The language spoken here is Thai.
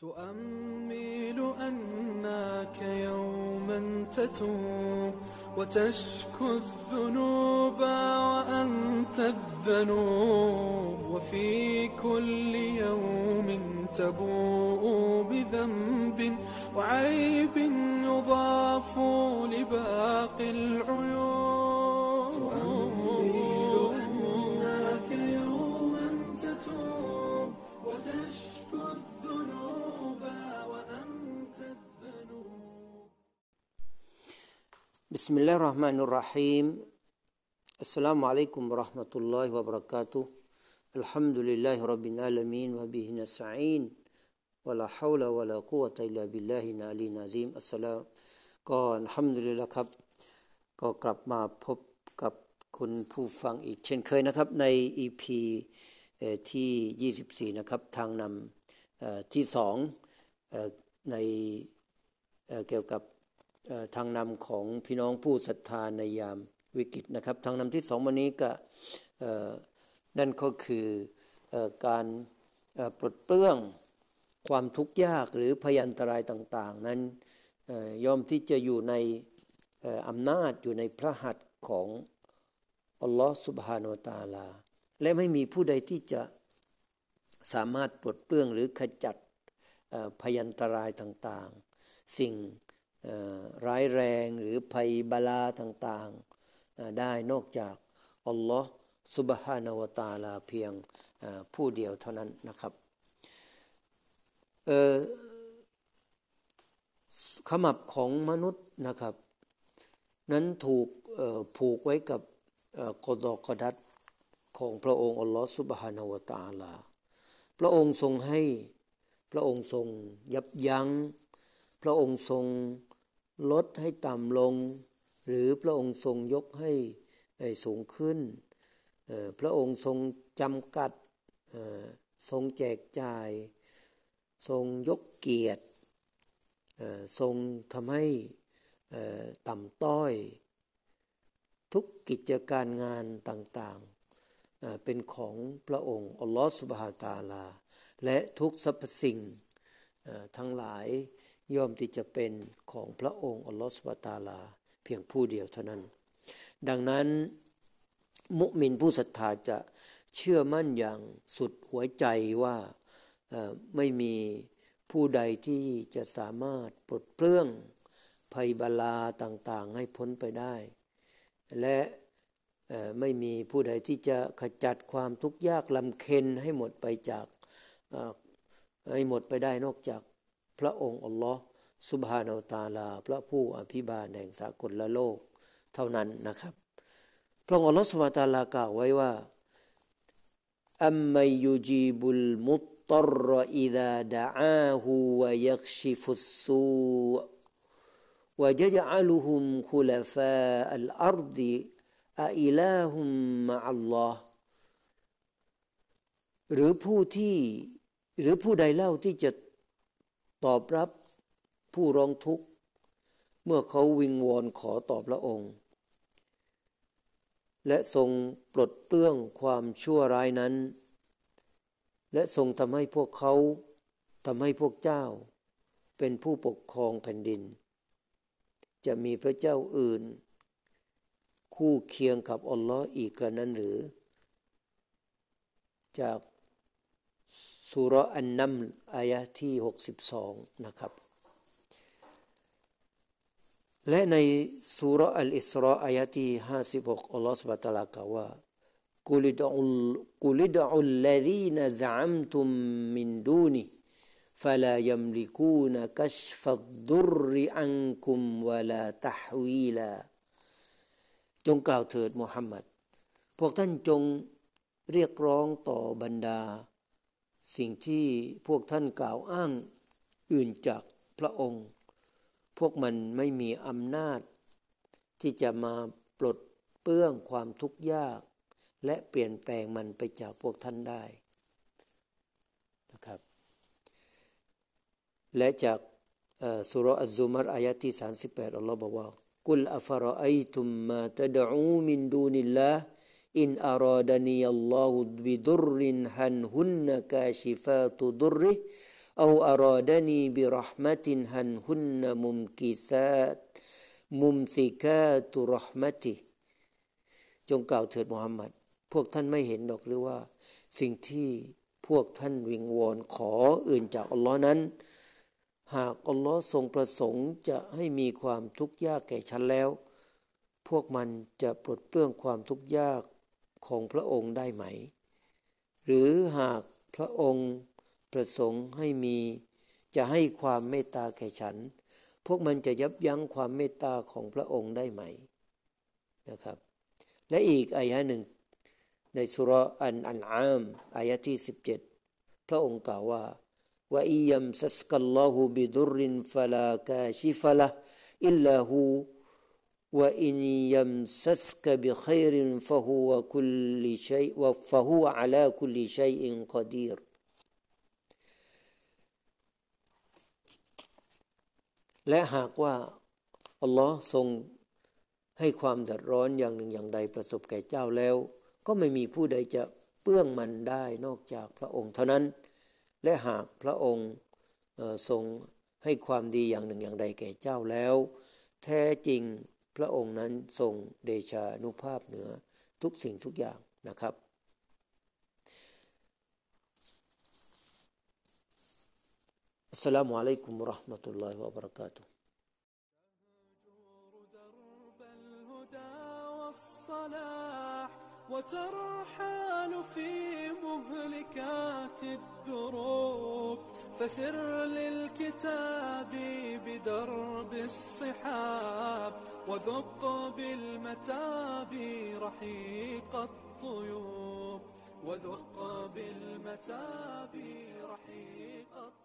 تؤمل أنك يوما تتوب وتشكو الذنوب وأنت الذنوب وفي كل يوم تبوء بذنب وعيب يضاف لباقي العيوب تؤمل أنك يوما تتوب وتشكو الذنوب وأنت الذنوب. بسم الله الرحمن الرحيم. السلام عليكم ورحمة الله وبركاته. الحمد لله رب العالمين وبه نستعين ولا حول ولا قوة إلا بالله العلي العظيم.อัสสลามุก็อัลฮัมดุลิลละห์ครับก็กลับมาพบกับคุณผู้ฟังอีกเช่นเคยนะครับใน EP ที่24นะครับทางนำที่2ในเกี่ยวกับทางนำของพี่น้องผู้ศรัทธาในยามวิกฤตนะครับทางนำที่2วันนี้ก็นั่นก็คือการปลดเปลื้องความทุกข์ยากหรือพยันตรายต่างๆนั้นย่อมที่จะอยู่ในอำนาจอยู่ในพระหัตถ์ของอัลลอฮฺซุบฮานะฮูวะตะอาลาและไม่มีผู้ใดที่จะสามารถปลดเปลื้องหรือขจัดพยันตรายต่างๆสิ่งร้ายแรงหรือภัยบาลาต่างๆได้นอกจากอัลลอฮฺซุบฮานะฮูวะตะอาลาเพียงผู้เดียวเท่านั้นนะครับขมับของมนุษย์นะครับนั้นถูกผูกไว้กับกฎกดัรของพระองค์อัลลอฮฺซุบฮานะฮูวะตะอาลาพระองค์ทรงให้พระองค์ทรงยับยั้งพระองค์ทรงลดให้ต่ำลงหรือพระองค์ทรงยกให้สูงขึ้นพระองค์ทรงจำกัดทรงแจกจ่ายทรงยกเกียรติทรงทำให้ต่ำต้อยทุกกิจการงานต่างๆเป็นของพระองค์อัลลอฮฺซุบฮานะฮูวะตะอาลาและทุกสรรพสิ่งทั้งหลายย่อมที่จะเป็นของพระองค์อัลลอฮฺซุบฮานะฮูวะตะอาลาเพียงผู้เดียวเท่านั้นดังนั้นมุมินผู้ศรัทธาจะเชื่อมั่นอย่างสุดหัวใจว่าไม่มีผู้ใดที่จะสามารถปลดเปลื้องภัยบาลาต่างๆให้พ้นไปได้และไม่มีผู้ใดที่จะขจัดความทุกข์ยากลำเค็ญให้หมดไปได้นอกจากพระองค์อัลลอฮฺซุบฮานะฮูวะตะอาลาพระผู้อภิบาลแห่งสากลโลกเท่านั้นนะครับพระองค์อัลลอฮฺซุบฮานะฮูวะตะอาลากล่าวไว้ว่าอัมมัยยุจีบุลมุตตัรอิซาดะอาฮูวะยักชิฟุสซูวะยะญะลุฮุมคุลฟาอัลอัรฎิอะอิลาฮุมมะอัลลอฮ์หรือผู้ใดเล่าที่จะตอบรับผู้ร้องทุกข์เมื่อเขาวิงวอนขอต่อพระองค์และทรงปลดเปลื้องความชั่วร้ายนั้นและทรงทำให้พวกเจ้าเป็นผู้ปกครองแผ่นดินจะมีพระเจ้าอื่นคู่เคียงกับอัลลอฮ์อีกกระนั้นหรือจากซูเราะห์อันนัมลอายะห์ที่62นะครับและในซูเราะห์อัลอิสราอายะห์ที่56อัลลอฮ์ซุบฮานะฮูวะตะอาลากล่าวว่ากุลิดอุลลซีนซะอัมตุมมินดูนิฟะลายัมลิกูนกัชฟัดดุรอันกุมวะลาตะฮวีลาจงกล่าวเถิดมุฮัมมัดพวกท่านจงเรียกร้องต่อบรรดาสิ่งที่พวกท่านกล่าวอ้างอื่นจากพระองค์พวกมันไม่มีอำนาจที่จะมาปลดเปลื้องความทุกข์ยากและเปลี่ยนแปลงมันไปจากพวกท่านได้นะครับและจากซูเราะห์อัซซุมัรอายะห์ที่38อัลเลาะห์บอกว่ากุลอะฟะรออัยตุมมาตะดอูมินดูนิลลาฮ์อินอารอดานีอัลลอฮุบิดุรรินฮันฮุนนะกาชิฟาตุดุรริ أو أرادني برحمة هن ممكسات ممسكات رحمته จงกล่าวเถิดมุฮัมมัดพวกท่านไม่เห็นหรอกหรือว่าสิ่งที่พวกท่านวิงวอนขออื่นจากอัลลอฮ์นั้นหากอัลลอฮ์ทรงประสงค์จะให้มีความทุกข์ยากแก่ฉันแล้วพวกมันจะปลดเปลื้องความทุกข์ยากของพระองค์ได้ไหมหรือหากพระองค์ประสงค์จะให้ความเมตตาแก่ฉันพวกมันจะยับยั้งความเมตตาของพระองค์ได้ไหมนะครับและอีกอายะหนึ่งในสุเราะห์อันอามอายะที่17พระองค์กล่าวว่าว่าอิยัมซัสกัลลอฮุบิดุรรินฟะลากาชิฟะละอิลลาฮูวะอินยัมซัสกะบิค็อยรินฟะฮุวะคุลลิชัยวะฟะฮุวะอะลาคุลลิชัยอินกอดีรและหากว่าอัลลอฮ์ทรงให้ความเดือดร้อนอย่างหนึ่งอย่างใดประสบแก่เจ้าแล้วก็ไม่มีผู้ใดจะเปื้องมันได้นอกจากพระองค์เท่านั้นและหากพระองค์ทรงให้ความดีอย่างหนึ่งอย่างใดแก่เจ้าแล้วแท้จริงพระองค์นั้นทรงเดชานุภาพเหนือทุกสิ่งทุกอย่างนะครับอัสสลามุอะลัยกุมวะเราะห์มะตุลลอฮิวะบะเราะกาตุฮ์ وترحال في مهلكات الدروب فسر للكتاب بدرب الصحاب وذق بالمتاب رحيق الطيوب وذق بالمتاب رحيق الطيوب